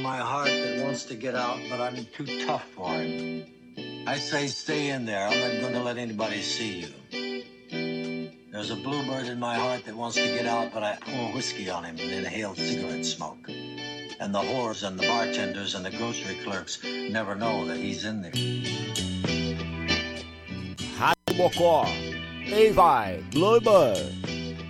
my heart that wants to get out, but I'm too tough for him. I say stay in there. I'm not going to let anybody see you. There's a bluebird in my heart that wants to get out, but I pour whiskey on him and inhale cigarette smoke. And the whores and the bartenders and the grocery clerks never know that he's in there. Rádio Mocó. Ei vai, Bluebird.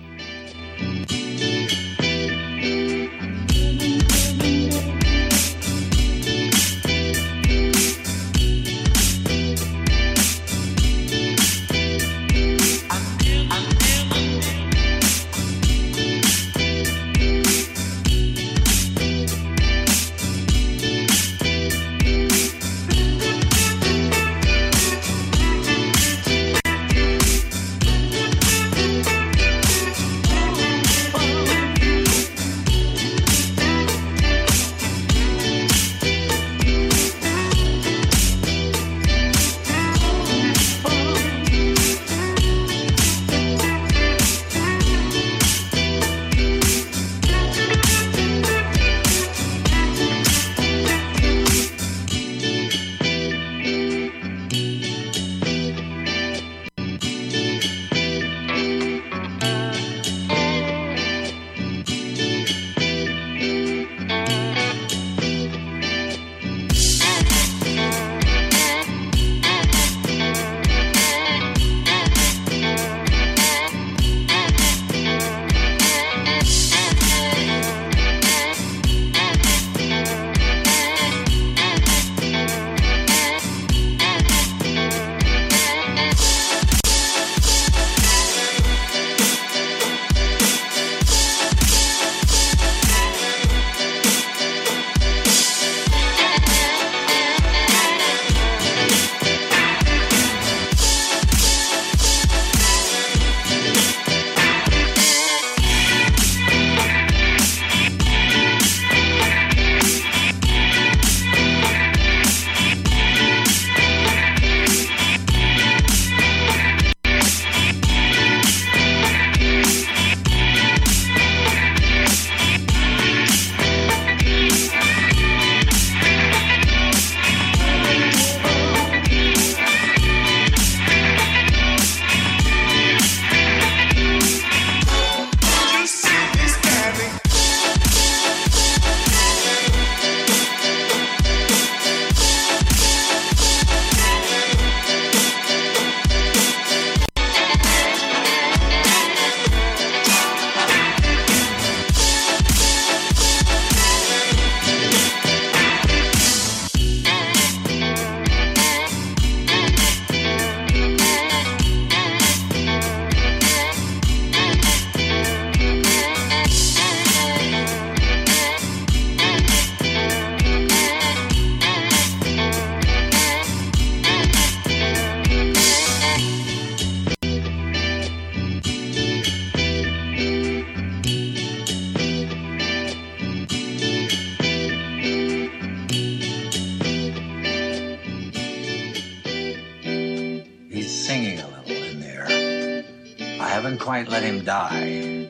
Quite let him die.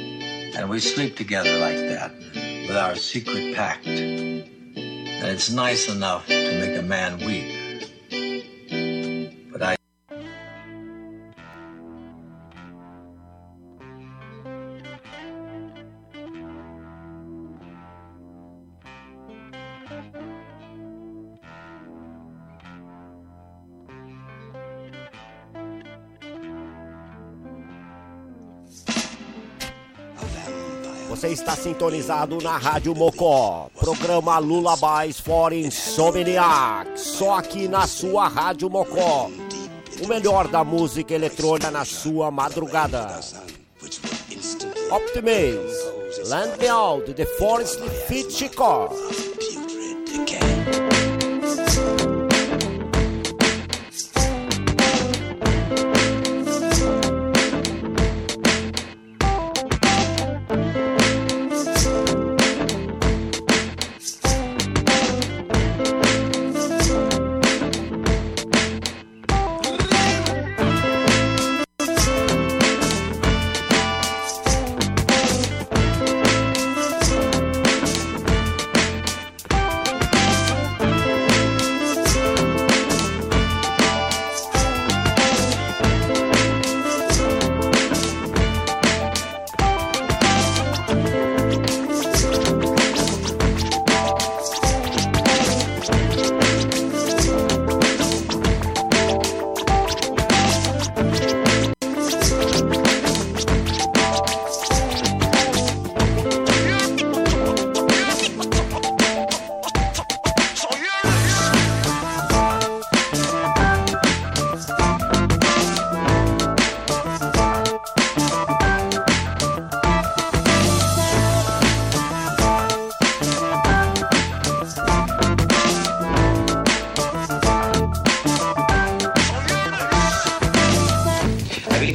And we sleep together like that with our secret pact. And it's nice enough to make a man weep. But I... Você está sintonizado na Rádio Mocó, programa Lullabies for Insomniacs, só aqui na sua Rádio Mocó. O melhor da música eletrônica na sua madrugada. Optimism, Land Beyond, The Forest Fit Chicago.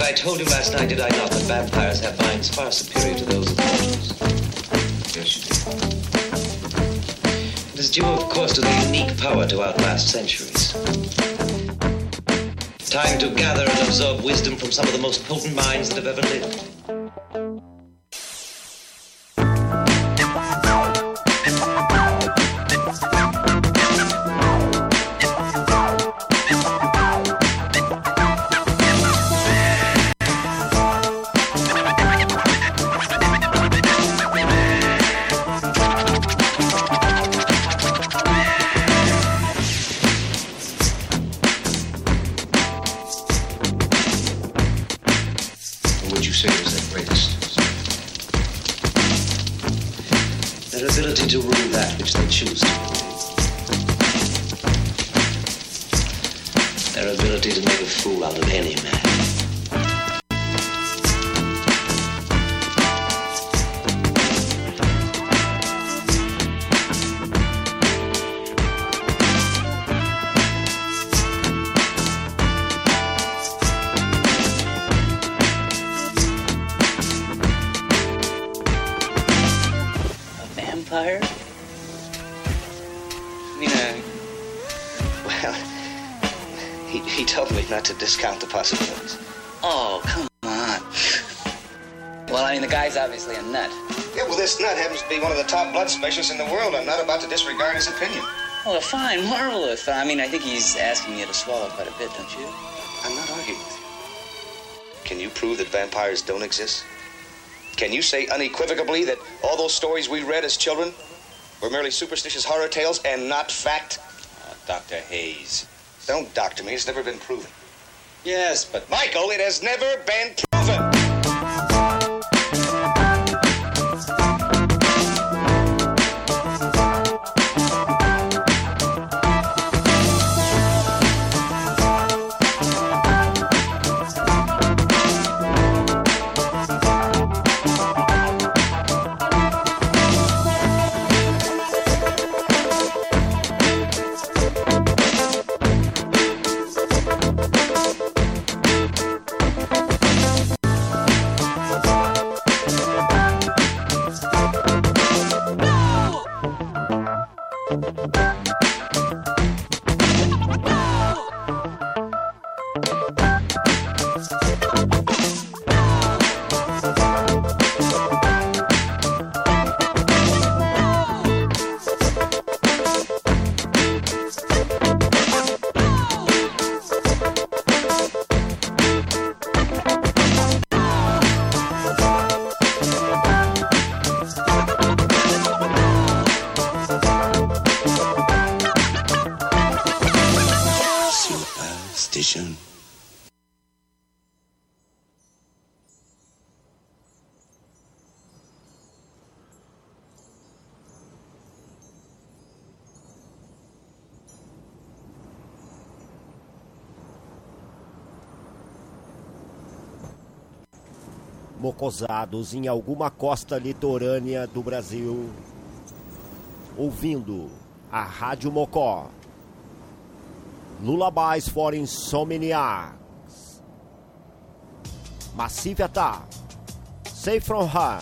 I told you last night, did I not, that vampires have minds far superior to those of mortals? Yes, you did. It is due, of course, to their unique power to outlast centuries. Time to gather and absorb wisdom from some of the most potent minds that have ever lived. To rule that which they choose to rule. Their ability to make a fool out of any man. Vampire? Well, he told me not to discount the possibilities. Oh, come on. Well, I mean, the guy's obviously a nut. Yeah, well, this nut happens to be one of the top blood specialists in the world. I'm not about to disregard his opinion. Oh, fine, marvelous. I mean, I think he's asking you to swallow quite a bit, don't you? I'm not arguing with you. Can you prove that vampires don't exist? Can you say unequivocally that all those stories we read as children were merely superstitious horror tales and not fact? Dr. Hayes. Don't doctor me. It's never been proven. Yes, but... Michael, it has never been proven. Mocosados em alguma costa litorânea do Brasil, ouvindo a Rádio Mocó. Lullabies for Insomniacs. Massive Attack. Safe from Her.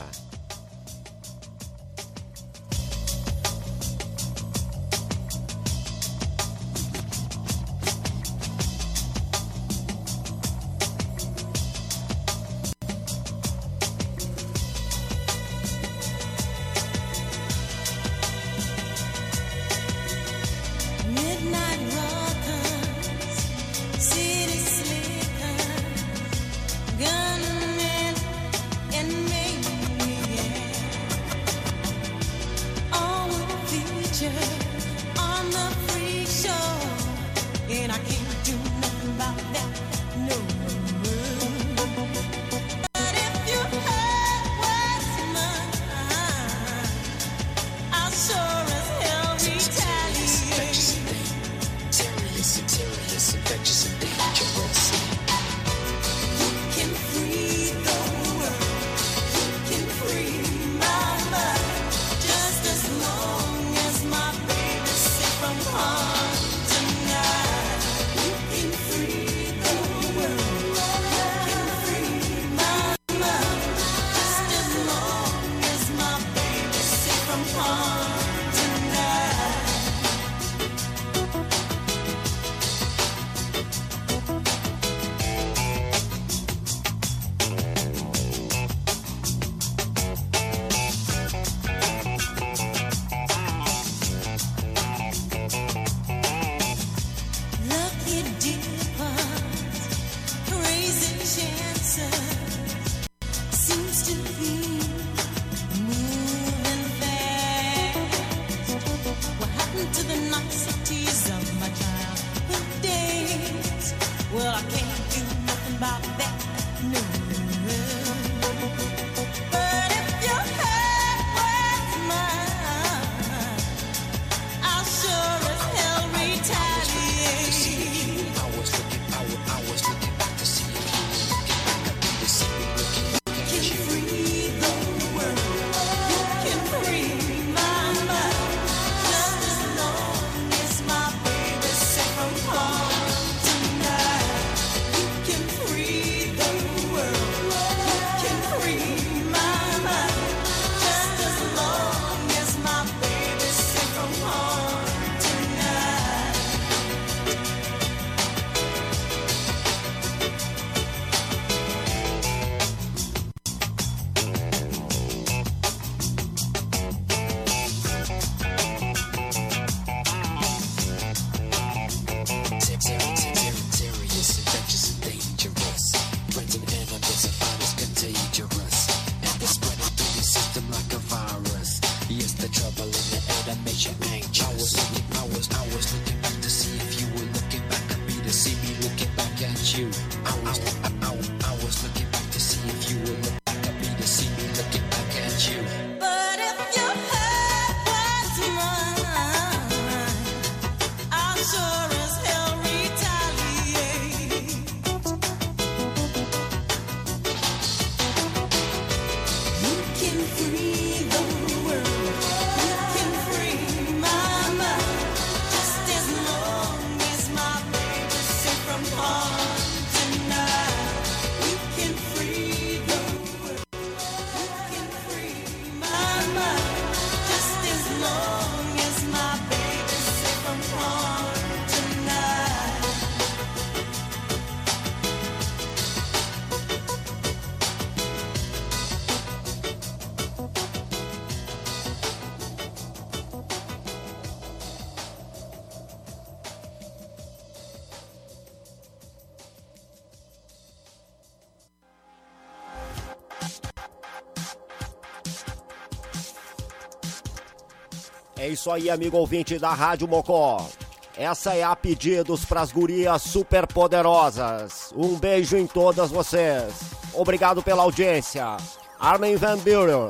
change. I was looking back to see if you were looking back at me, to see me looking back at you. I was looking back to see if you were looking back at me, to see me looking back at you. But if your heart was mine, I'll sure as hell retaliate. You can free the world, you can free my mind, just as long as my baby's safe from harm tonight. You can free the world, you can free my mind, just as long as my baby's safe from harm tonight. É isso aí, amigo ouvinte da Rádio Mocó. Essa é a pedidos pras gurias super poderosas. Um beijo em todas vocês. Obrigado pela audiência. Armin van Buren.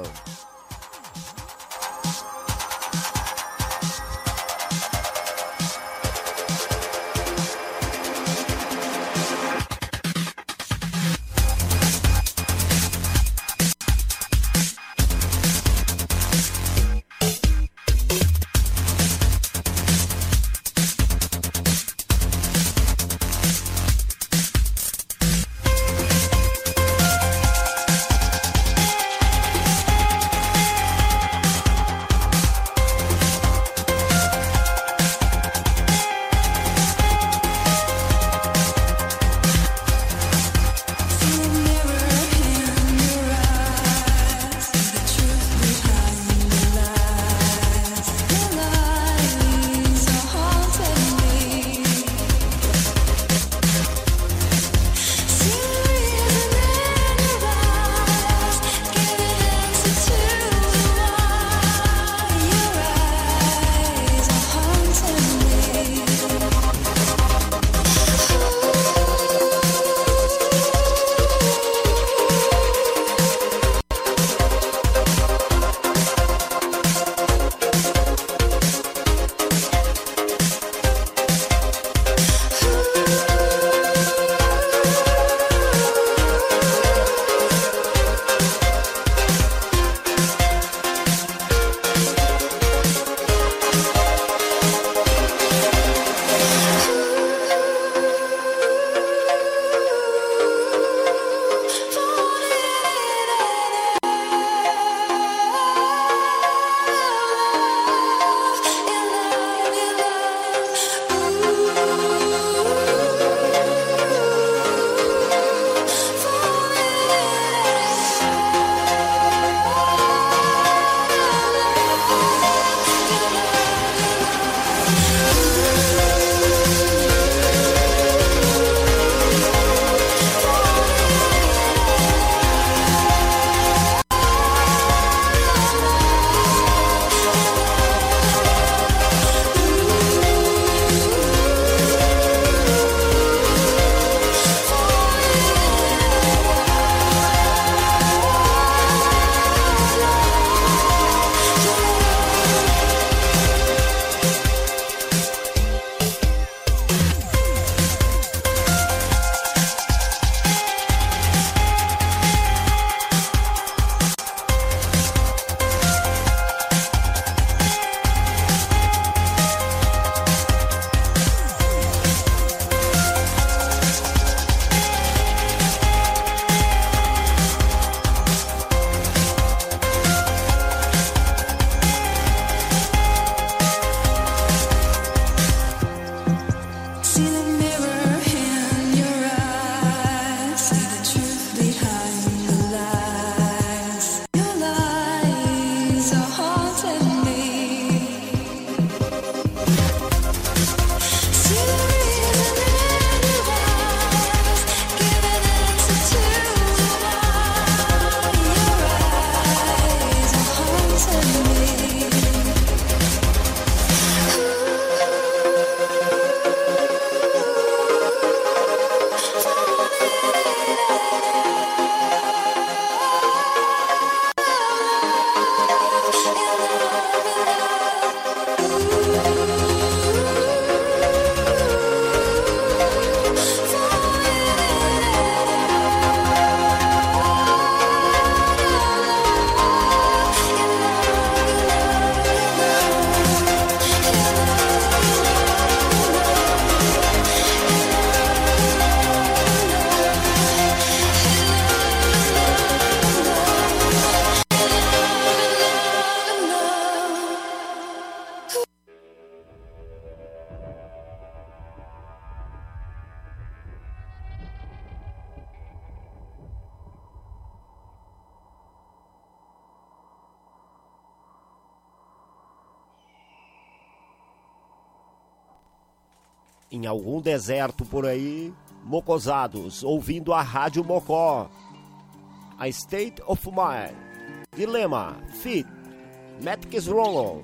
em algum deserto por aí, mocosados, ouvindo a Rádio Mocó. A State of Mind, Dilema, Fit, Matrix Rollo.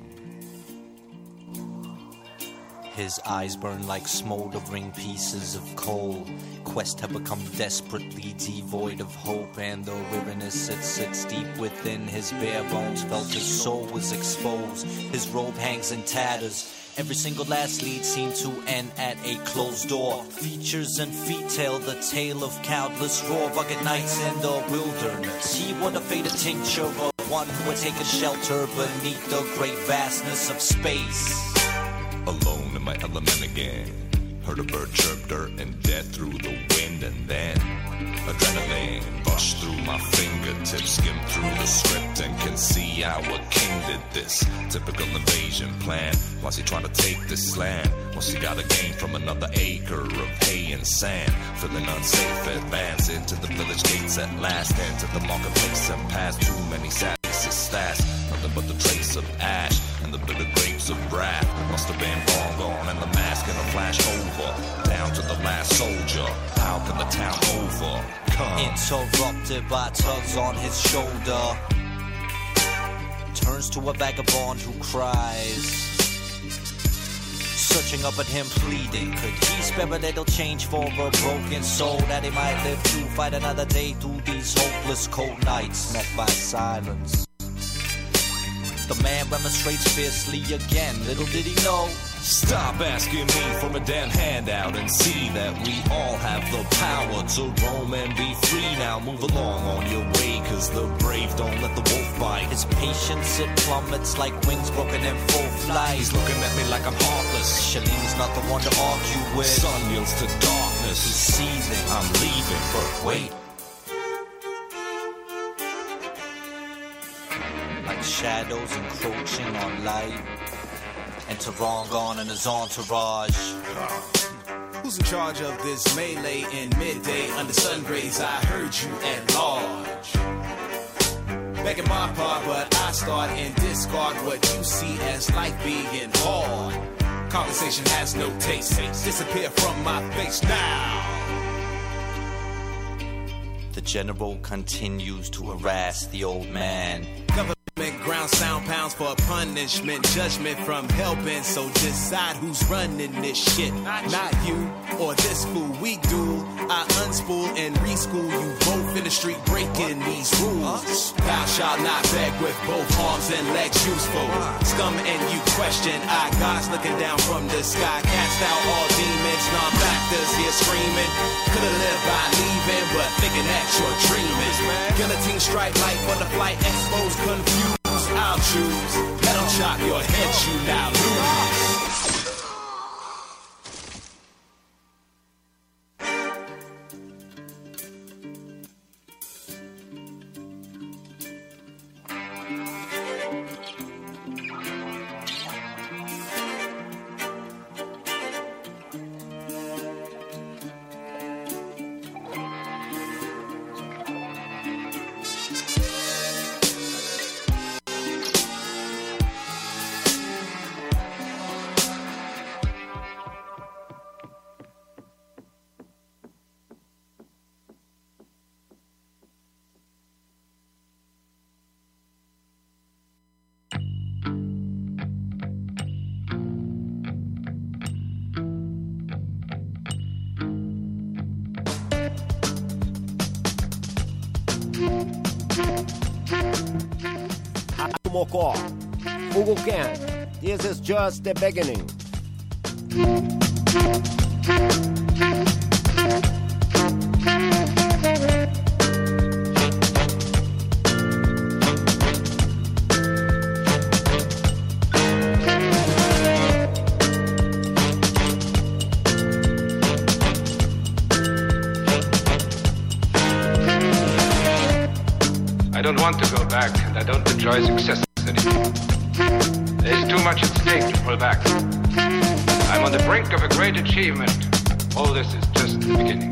His eyes burn like smoldering pieces of coal. Quest have become desperately devoid of hope, and the weariness that sits deep within his bare bones felt his soul was exposed. His robe hangs in tatters. Every single last lead seemed to end at a closed door. Features and feet tell the tale of countless raw, rugged nights in the wilderness. He would have faded tincture of one who would take a shelter beneath the great vastness of space. Alone in my element again. Heard a bird chirp dirt and dead through the wind, and then adrenaline rushed through my fingertips, skimmed through the script and can see how a king did this. Typical invasion plan. Why's he trying to take this land? Once he got a gain from another acre of hay and sand. Feeling unsafe, advance into the village gates at last. Enter the marketplace and past too many sadnesses stashed. Nothing but the trace of ash and the bitter grapes of wrath. Must have been long gone and the mask in a flash over. Down to the last soldier. How can the town overcome? Interrupted by tugs on his shoulder. Turns to a vagabond who cries. Searching up at him pleading, could he spare a little change for a broken soul, that he might live to fight another day through these hopeless cold nights, met by silence. The man remonstrates fiercely again, little did he know. Stop asking me for a damn handout and see that we all have the power to roam and be free. Now move along on your way, cause the brave don't let the wolf bite. His patience, it plummets like wings broken in full flight. He's looking at me like I'm heartless. Shaleem's not the one to argue with. Sun yields to darkness. He's seething, I'm leaving, but wait. Like shadows encroaching on light. Enter Rongon and his entourage. Who's in charge of this melee in midday under sun rays? I heard you at large. Begging my part, but I start and discard what you see as life being hard. Conversation has no taste. Disappear from my face now. The general continues to harass the old man. Government ground sound pounds for punishment, judgment from hellbent. So decide who's running this shit. Not you or this fool. We do. I unspool and reschool you both in the street breaking these rules. Thou shalt not beg with both arms and legs useful. Scum and you question. I God's looking down from the sky. Cast out all demons, non-factors here screaming. Could've lived by leaving, but thinking that you're dreaming. Guillotine strike like butterfly exposed, confused. I'll choose. Let them chop your head, you now lose. Mocó, Google Can. This is just the beginning. I don't want to go back, and I don't enjoy success anymore. There's too much at stake to pull back. I'm on the brink of a great achievement. All this is just the beginning.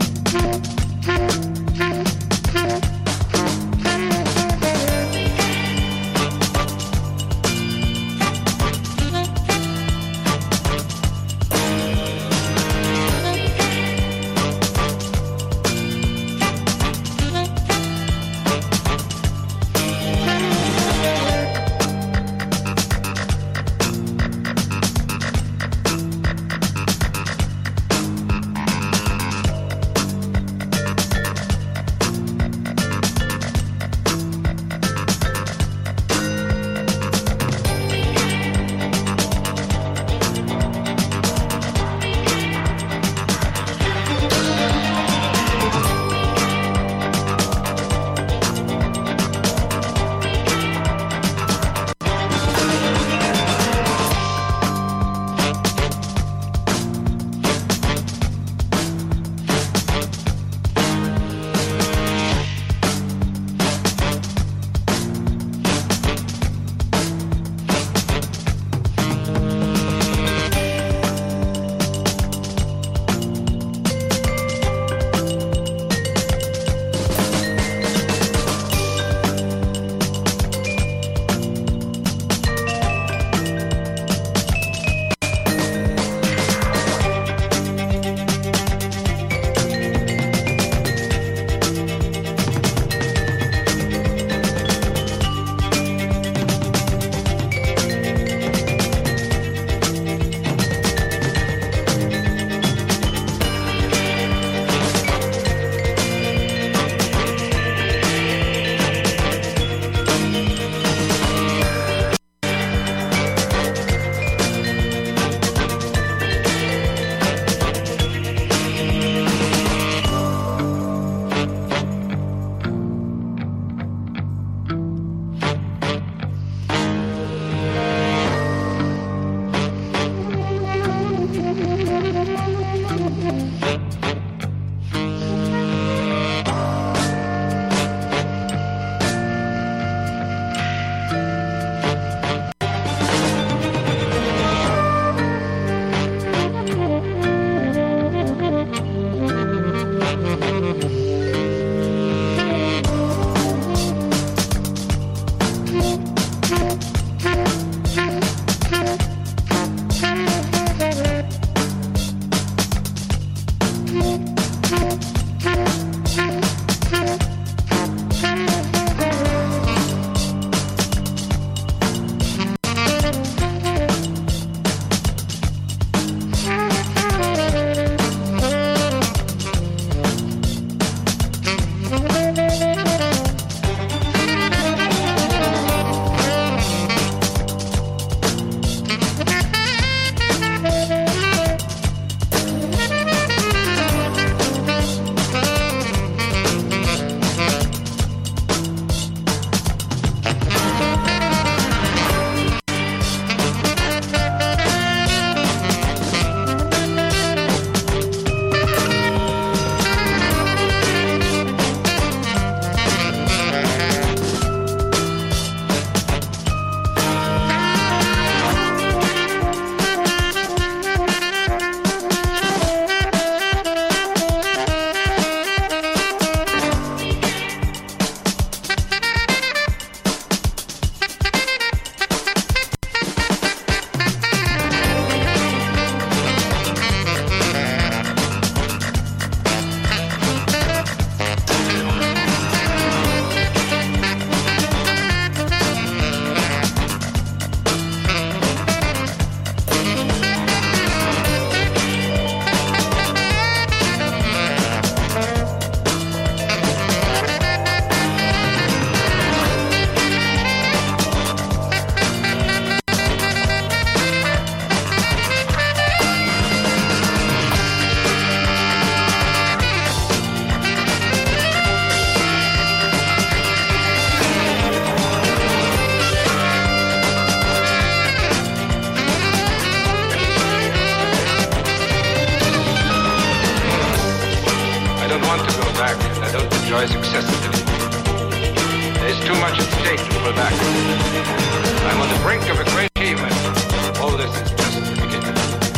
enjoys excessive anymore. There's too much at stake to pull back. I'm on the brink of a great achievement. All this is just the beginning.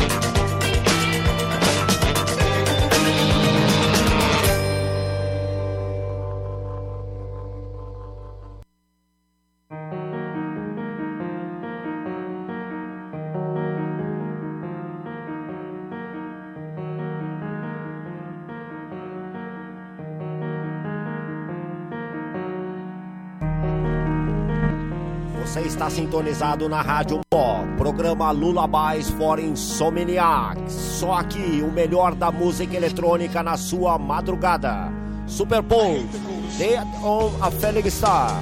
Você está sintonizado na Rádio Mó, programa Lullabies for Insomniacs. Só aqui o melhor da música eletrônica na sua madrugada. Superpose, Dead on a Falling Star.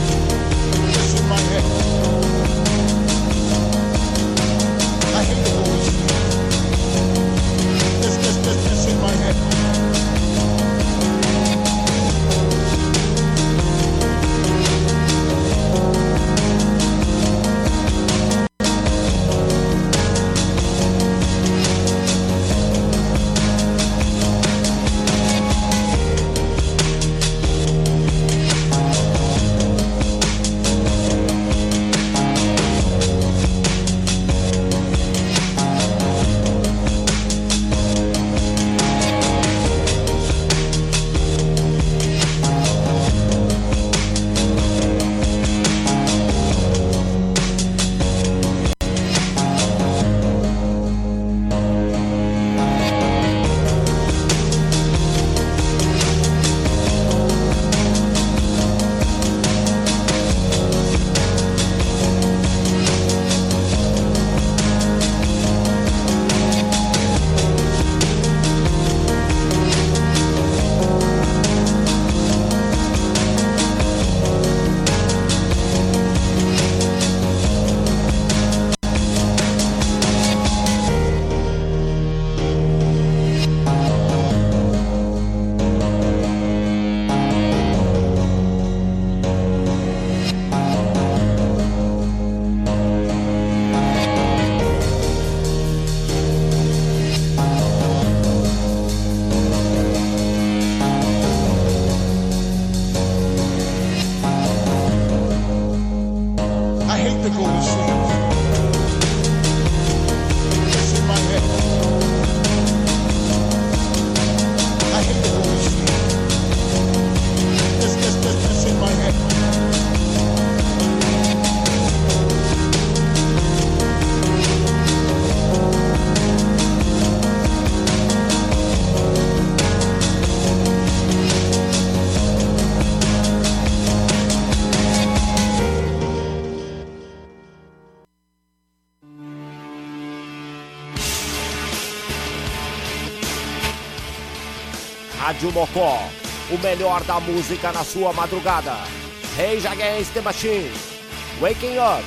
Rádio Mocó, o melhor da música na sua madrugada. Rage Against the Machine, Waking Up.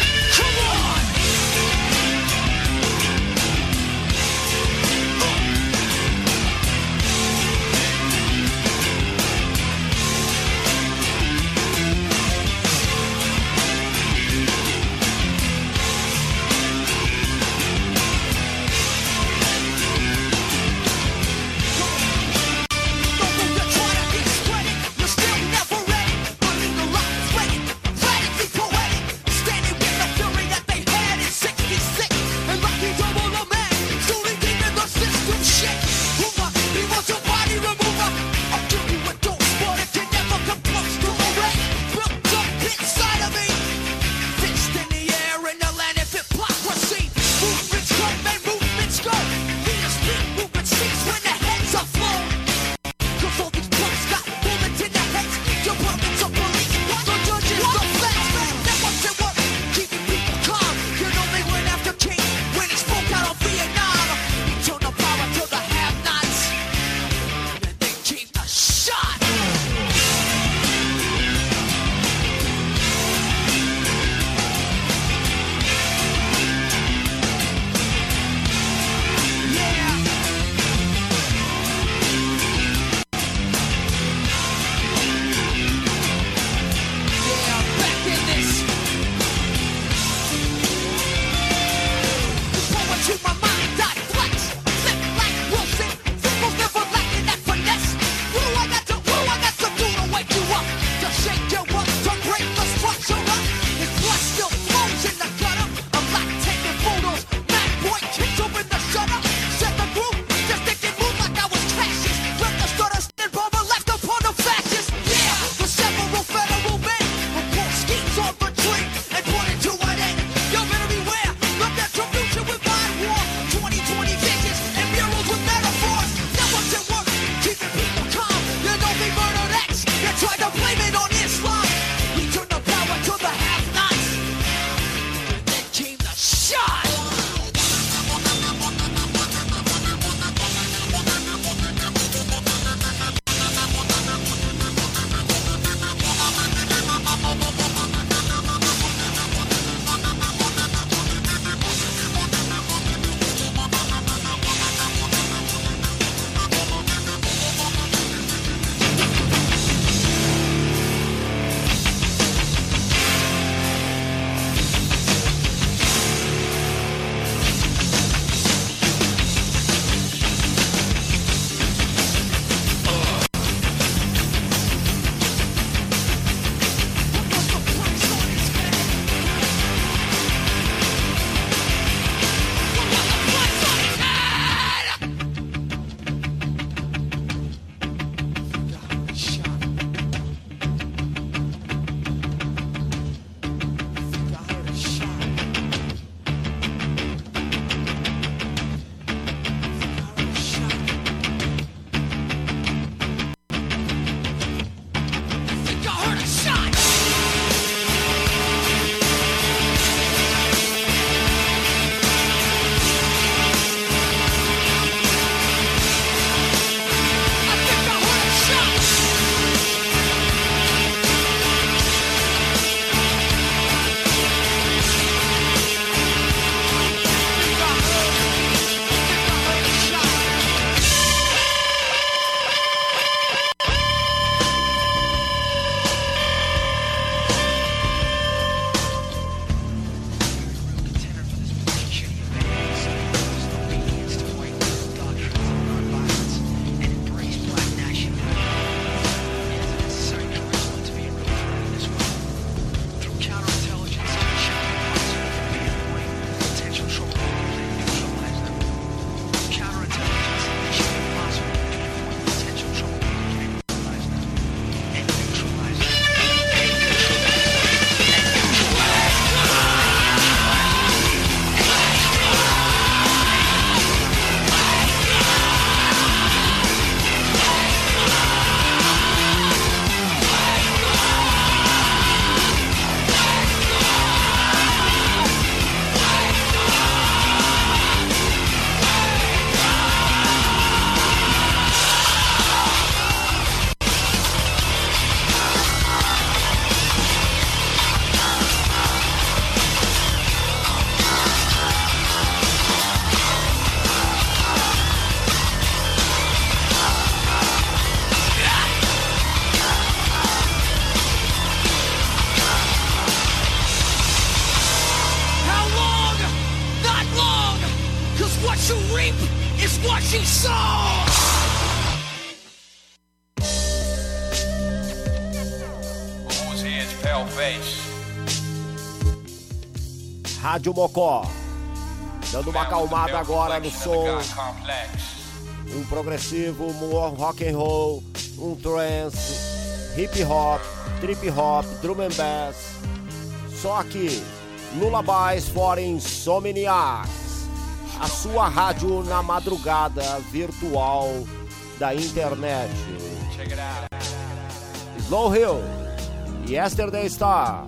Come on! funky soul. Who's here's pale face? Rádio Mocó, dando uma acalmada agora no som. Um progressivo, um rock and roll, um trance, hip hop, trip hop, drum and bass. Só aqui, Lullabies for Insomniacs, a sua rádio na madrugada virtual da internet. Slow Hill, Yesterday Star.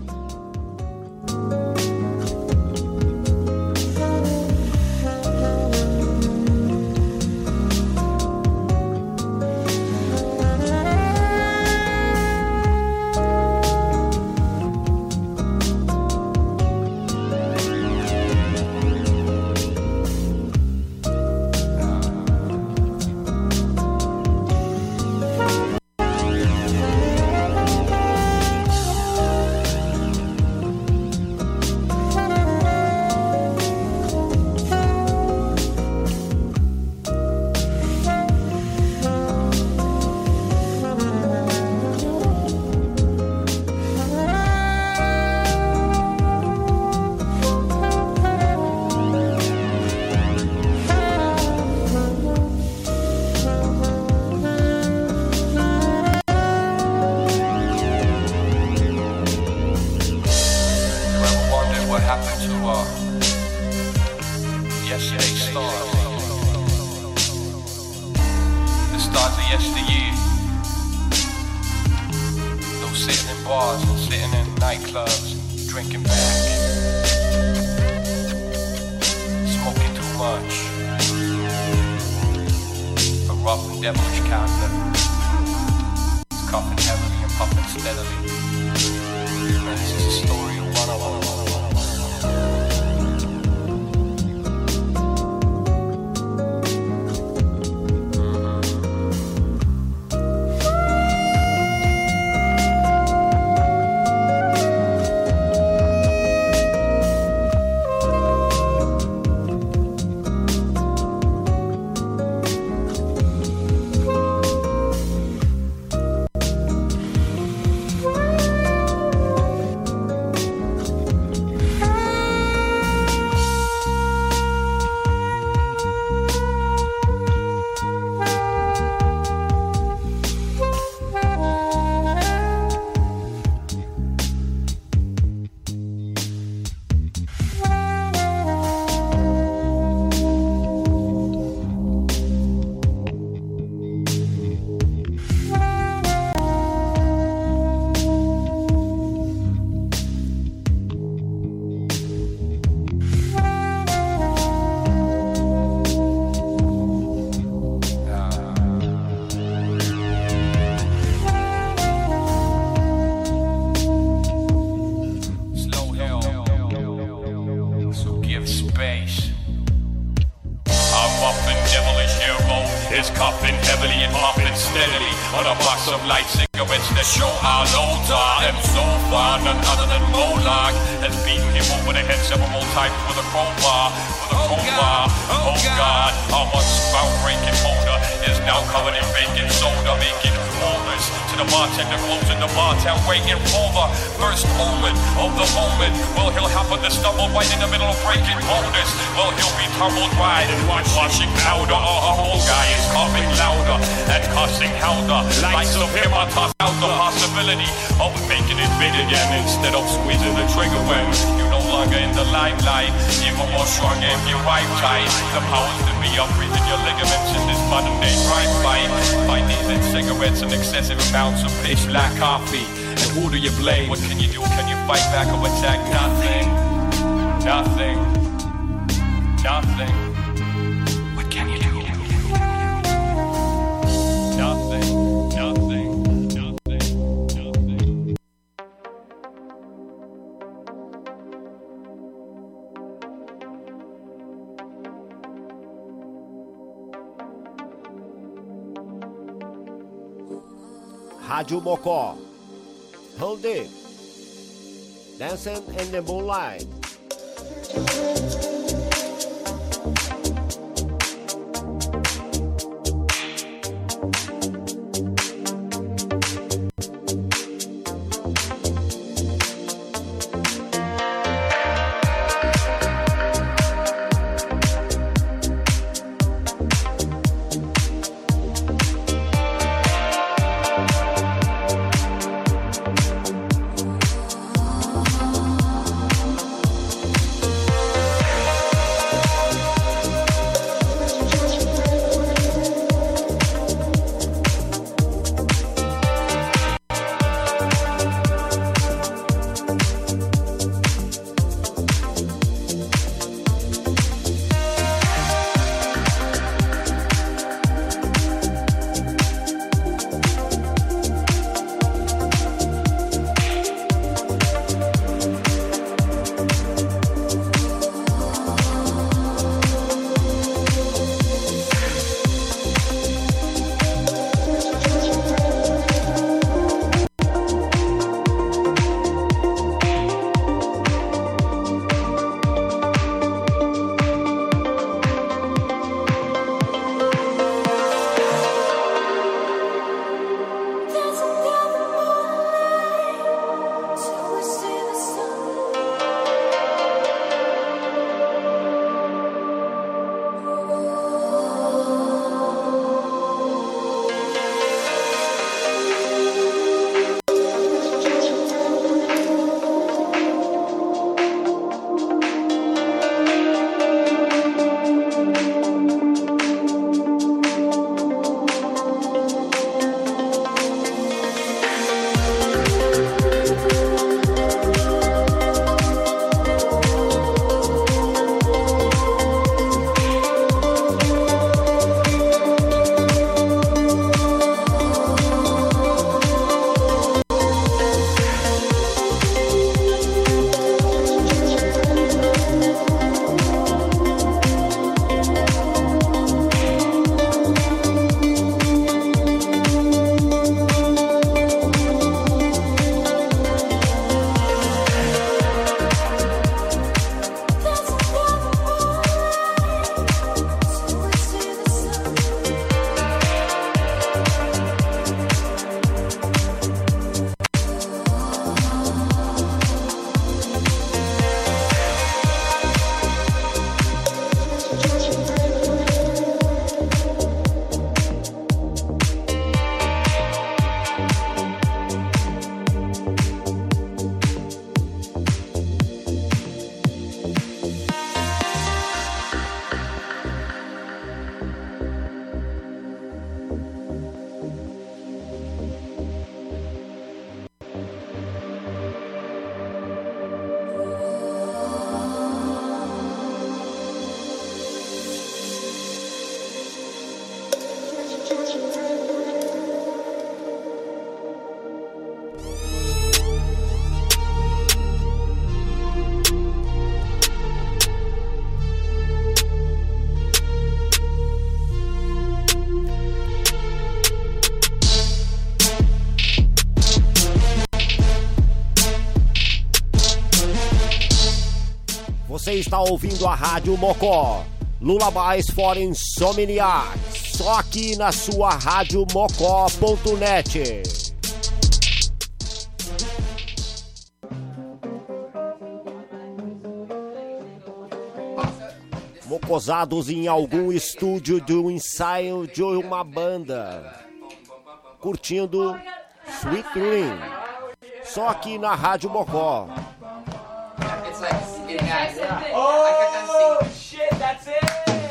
What can you do? Can you fight back or attack? Nothing. Nothing. Nothing. What can you do? Nothing. Nothing. Nothing. Rádio Mocó. Hold it. Dancing in the moonlight. Você está ouvindo a Rádio Mocó, Lullabies for Insomniacs, só aqui na sua radiomocó.net. Mocosados em algum estúdio de um ensaio de uma banda, curtindo Sweet Dream, só aqui na Rádio Mocó. Oh, shit, that's it.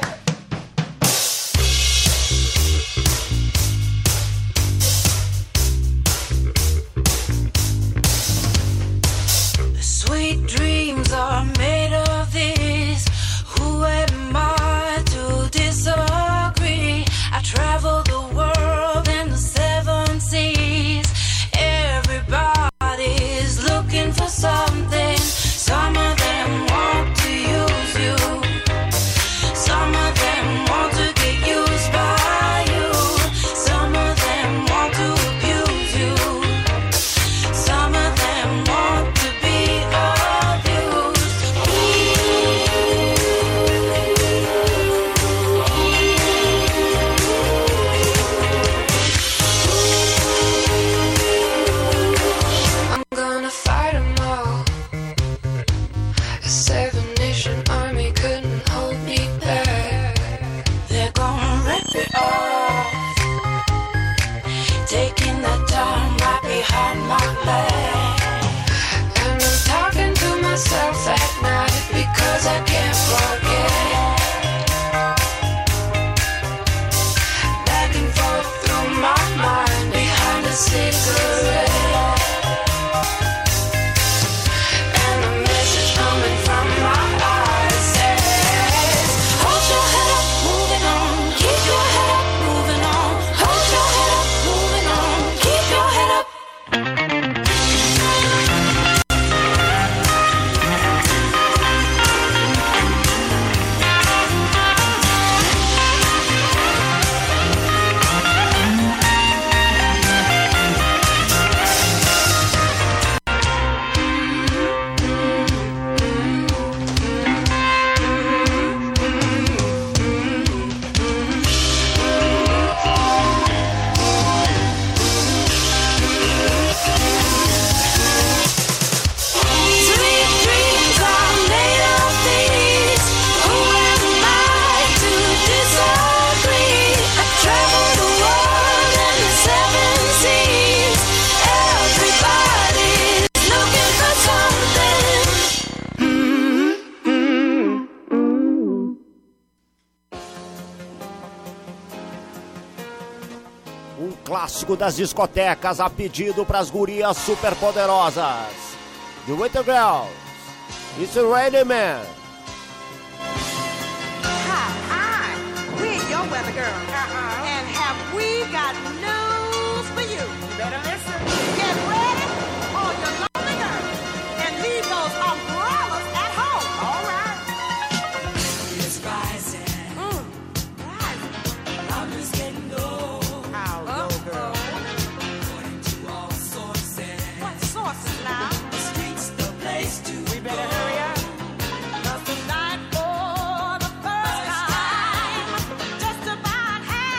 Sweet dreams are made of this. Who am I to disagree? I travel the world and the seven seas. Everybody's looking for something. Some of them want to use you. Some of them want to get used by you. Some of them want to abuse you. Some of them want to be abused. I'm gonna fight 'em all. The Seven Nation Army couldn't hold me back. They're gonna rip it off, taking the time right behind my back. And I'm talking to myself at night because I can't forget. Back and forth through my mind behind a cigarette. And the message coming from my eyes says, hold your head up, moving on. Keep your head up, moving on. Hold your head up, moving on. Keep your head up. Sweet dreams are made of these. Who am I to disagree? I travel the world and the seven seas. Everybody's looking for something. Um clássico das discotecas a pedido pras gurias superpoderosas. The Winter Girls, It's a Rainy Man. Hi, we're your weather girl. And have we got news for you? You better listen. Get ready on your lonely girl and leave those umbrellas at home. All right. It's rising. Rising. I'm just getting low. How low, girl? According to all sources. What sources now? The streets, the place to We better hurry up. 'Cause tonight for the first time, just about half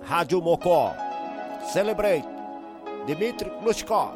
Rádio Mocó. Celebrate. Dmitry Glushkov.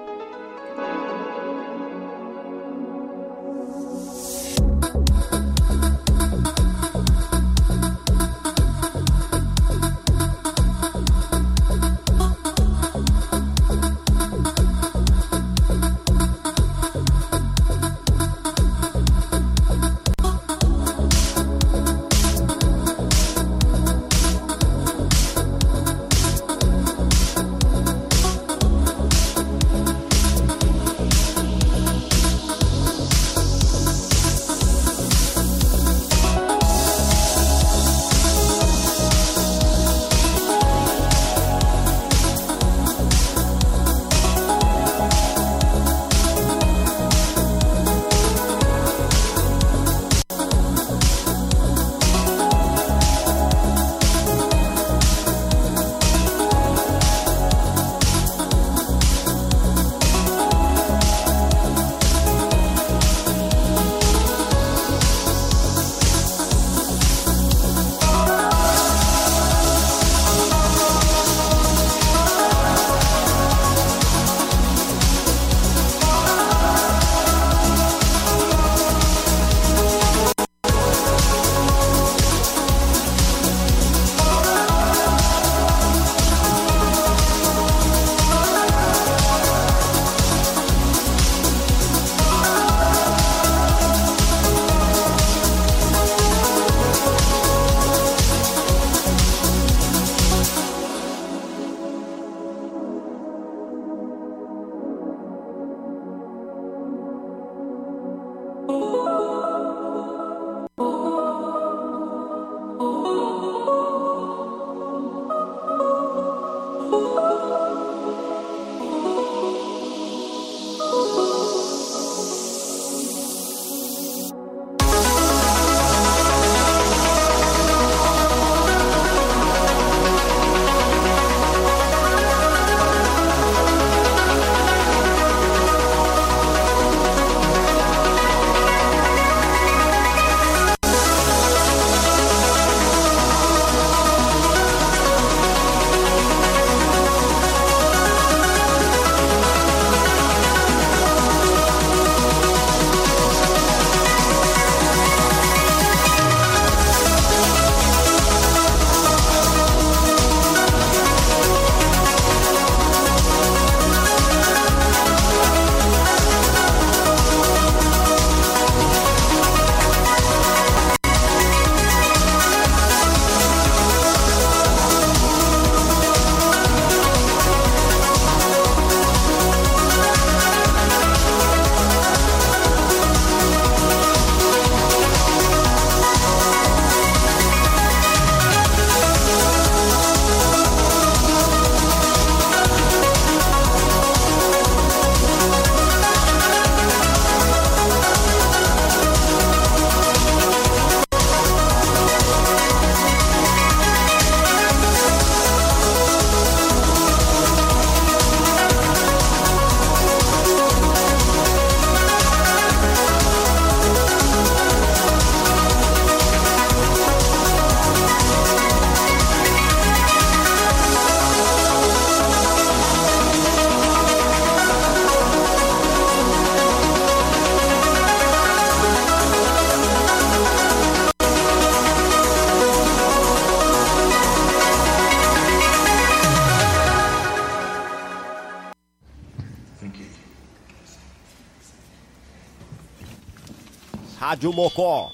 Rádio Mocó,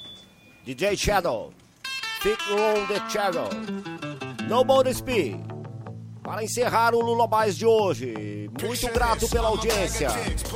DJ Shadow, Fit on the Shadow, Nobody Speak. Para encerrar o Lullabies de hoje, muito grato pela audiência.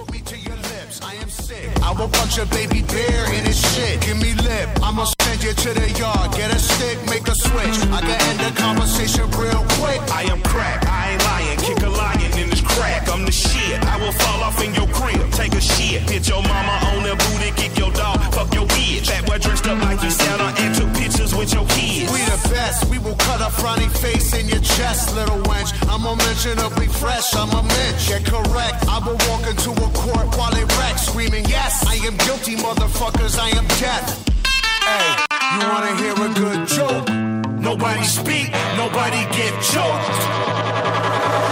I will punch a baby bear in his shit. Give me lip, I'ma send you to the yard. Get a stick, make a switch. I can end the conversation real quick. I am crack, I ain't lying. Kick a lion in this crack. I'm the shit. I will fall off in your crib. Take a shit. Hit your mama on the booty, kick your dog, fuck your bitch. That boy dressed up like you Santa and took pictures with your kids. We the best, we will cut a frowny face in your chest, little wench. I'm unmentionably fresh, I'm a mensch. Get correct, I will walk into a court while they wreck, screaming, yes, I am guilty, motherfuckers, I am death. Hey, you wanna hear a good joke? Nobody speak, nobody get choked.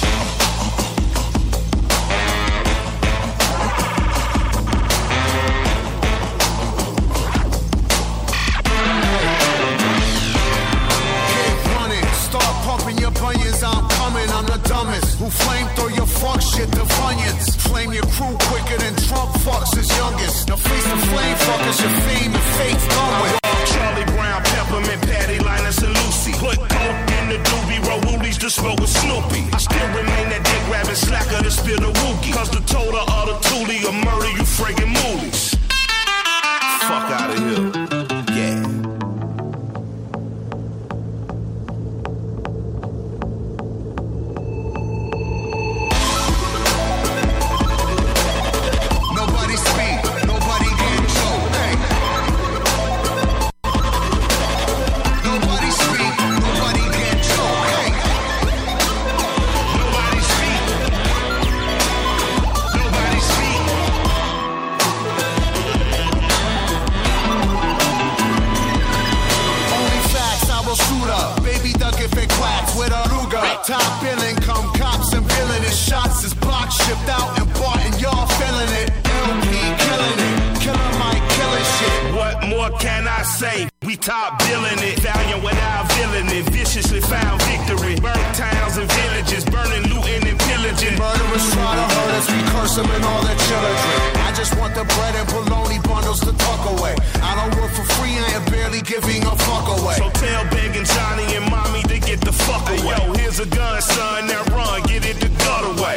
Your bunions, I'm coming, I'm the dumbest. Who flame throw your fuck shit to Funyuns. Flame your crew quicker than Trump fucks his youngest. Now face the flame fuckers, your fame and fate's done with. Charlie Brown, Peppermint, Patty, Linus, and Lucy. Put coke in the doobie, roll woolies to smoke with Snoopy. I still remain that dick grabbing slacker to spill the wookie. Cause the total of the toolie will murder you friggin' moolies. Fuck out of here. Yeah. Top billing, come cops and villainous shots is blocked, shipped out and bought, and y'all feeling it. LP killing it, Killer Mike killing shit. What more can I say? We top billing it, valiant without villainy, viciously found victory. Burnt towns and villages, burning, looting, and pillaging. Murderers try to hurt us, we curse them and all their children. I just want the bread and bologna bundles to tuck away. I don't work for free, I am barely giving a fuck away. So tell Begging Johnny and Mommy to get the fuck away. Hey, yo, here's a gun, son, now run, get it the gut away.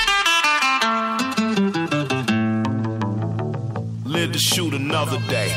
Live to shoot another day.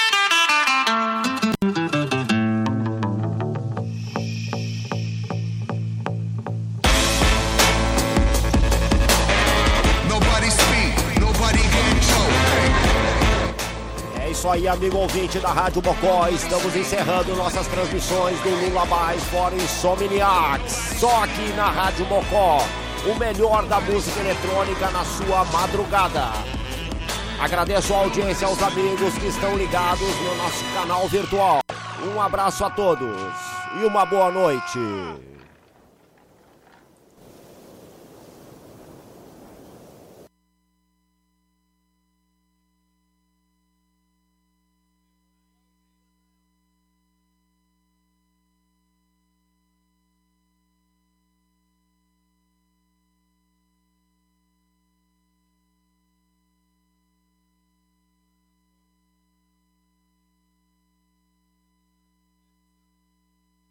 Isso aí, amigo ouvinte da Rádio Mocó, estamos encerrando nossas transmissões do Lullabies for Insomniacs, só aqui na Rádio Mocó, o melhor da música eletrônica na sua madrugada. Agradeço a audiência aos amigos que estão ligados no nosso canal virtual. Um abraço a todos e uma boa noite.